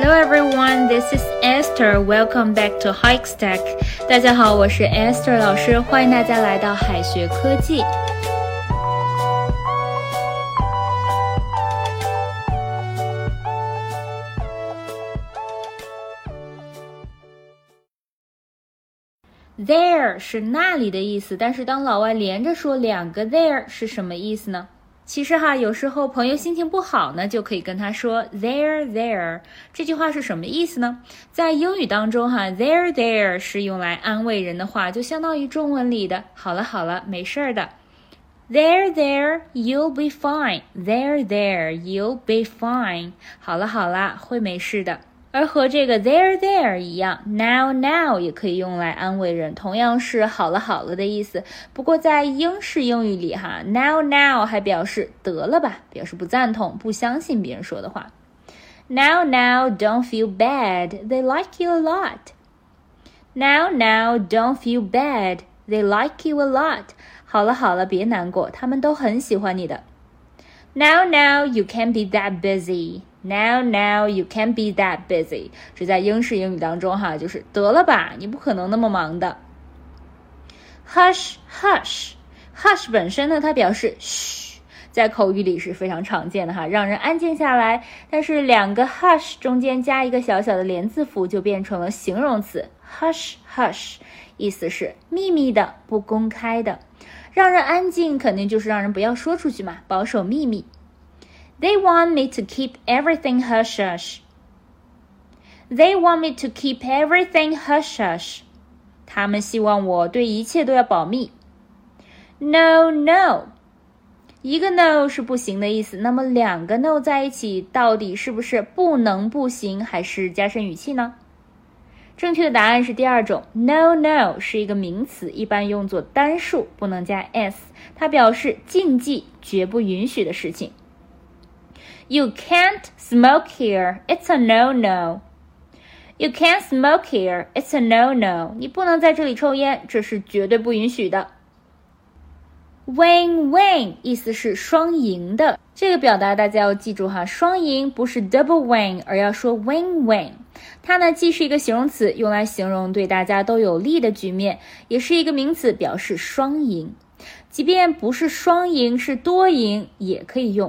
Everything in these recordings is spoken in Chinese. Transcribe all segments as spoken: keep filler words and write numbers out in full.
Hello everyone, this is Esther. Welcome back to Hikestack. 大家好，我是 Esther 老师，欢迎大家来到海学科技。There 是那里的意思，但是当老外连着说两个 there 是什么意思呢？其实哈，有时候朋友心情不好呢，就可以跟他说 there there。这句话是什么意思呢？在英语当中哈 there there 是用来安慰人的话，就相当于中文里的好了好了，没事的。There there, you'll be fine. There there, you'll be fine. 好了好了，会没事的。而和这个 there there 一样 now now 也可以用来安慰人，同样是好了好了的意思。不过在英式英语里哈 now now 还表示得了吧，表示不赞同，不相信别人说的话。Now now, don't feel bad. They like you a lot. Now now, don't feel bad. They like you a lot. 好了好了，别难过，他们都很喜欢你的。Now now, you can't be that busy.Now, now, you can't be that busy. 这在英式英语当中哈，就是得了吧，你不可能那么忙的。Hush, hush. Hush 本身呢，它表示嘘，在口语里是非常常见的哈，让人安静下来。但是两个 hush 中间加一个小小的连字符，就变成了形容词 hush, hush， 意思是秘密的，不公开的。让人安静，肯定就是让人不要说出去嘛，保守秘密。They want me to keep everything hush-hush. They want me to keep everything hush-hush. 他们希望我对一切都要保密。No, no. 一个 no 是不行的意思，那么两个 no 在一起，到底是不是不能不行，还是加深语气呢？正确的答案是第二种。No, no 是一个名词，一般用作单数，不能加 s， 它表示禁忌，绝不允许的事情。You can't smoke here. It's a no-no. You can't smoke here. It's a no-no. 你不能在这里抽烟，这是绝对不允许的。Win-win 意思是双赢的，这个表达大家要记住哈，双赢不是 double win， 而要说 win-win。它呢既是一个形容词，用来形容对大家都有利的局面，也是一个名词，表示双赢。即便不是双赢，是多赢，也可以用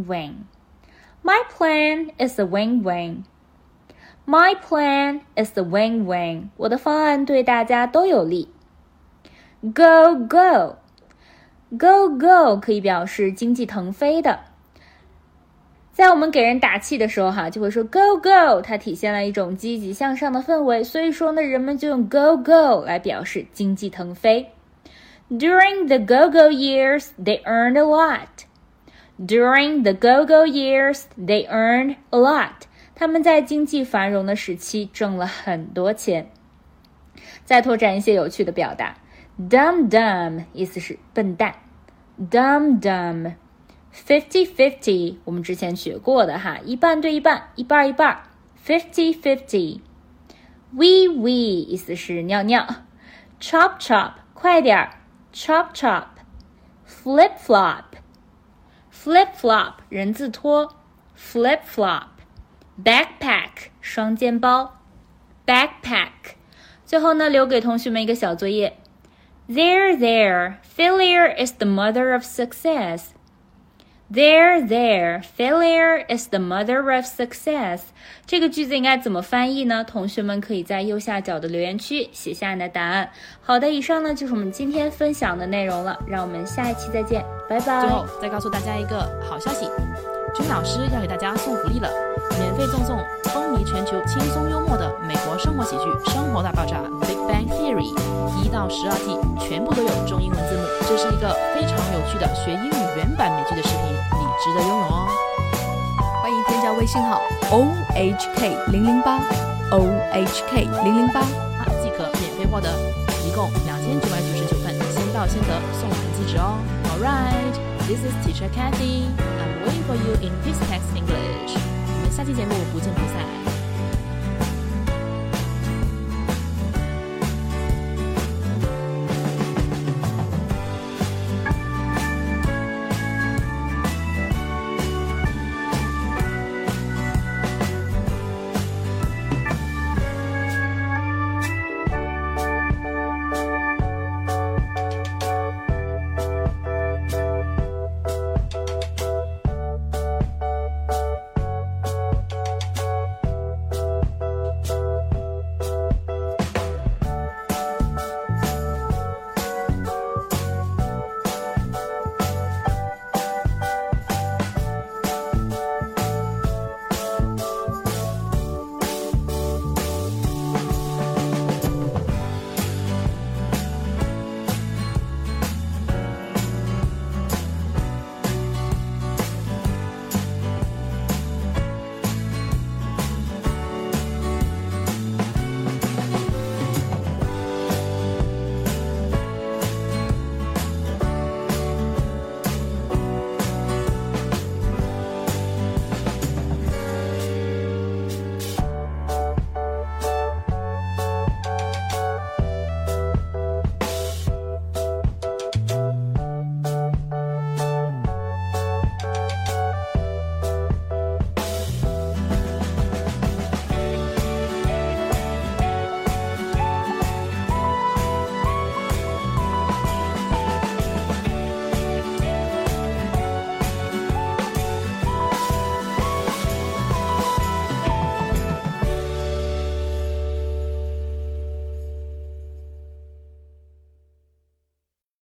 win-win。My plan is a win-win. My plan is a win-win. 我的方案对大家都有利。Go, go. Go, go 可以表示经济腾飞的。在我们给人打气的时候哈，就会说 go, go， 它体现了一种积极向上的氛围，所以说呢，人们就用 go, go 来表示经济腾飞。During the go-go years, they earned a lot.During the go-go years, they earned a lot. 他们在经济繁荣的时期挣了很多钱。再拓展一些有趣的表达 ，dumb dumb 意思是笨蛋 ，dumb dumb。fifty fifty 我们之前学过的哈，一半对一半，一半一半 ，fifty fifty。wee wee 意思是尿尿 ，chop chop 快点 ，chop chop。flip flop。flip-flop 人字拖 flip-flop backpack 双肩包 backpack 最后呢留给同学们一个小作业 There there failure is the mother of success There there failure is the mother of success 这个句子应该怎么翻译呢？同学们可以在右下角的留言区写下你的答案。好的，以上呢就是我们今天分享的内容了，让我们下一期再见，拜拜。 最后再告诉大家一个好消息，君老师要给大家送福利了，免费赠送风靡全球轻松幽默的美国生活喜剧《生活大爆炸》Big Bang Theory 一到十二季全部都有中英文字幕，这是一个非常有趣的学英语原版美剧的视频，你值得拥有哦。 欢迎添加微信号 O H K 零零八 O H K 零零八即可免费获得，一共两千九百九十九份，先到先得，送完即止哦。Alright, this is Teacher Kathy. I'm waiting for you in this text English. 我们下期节目不见不散。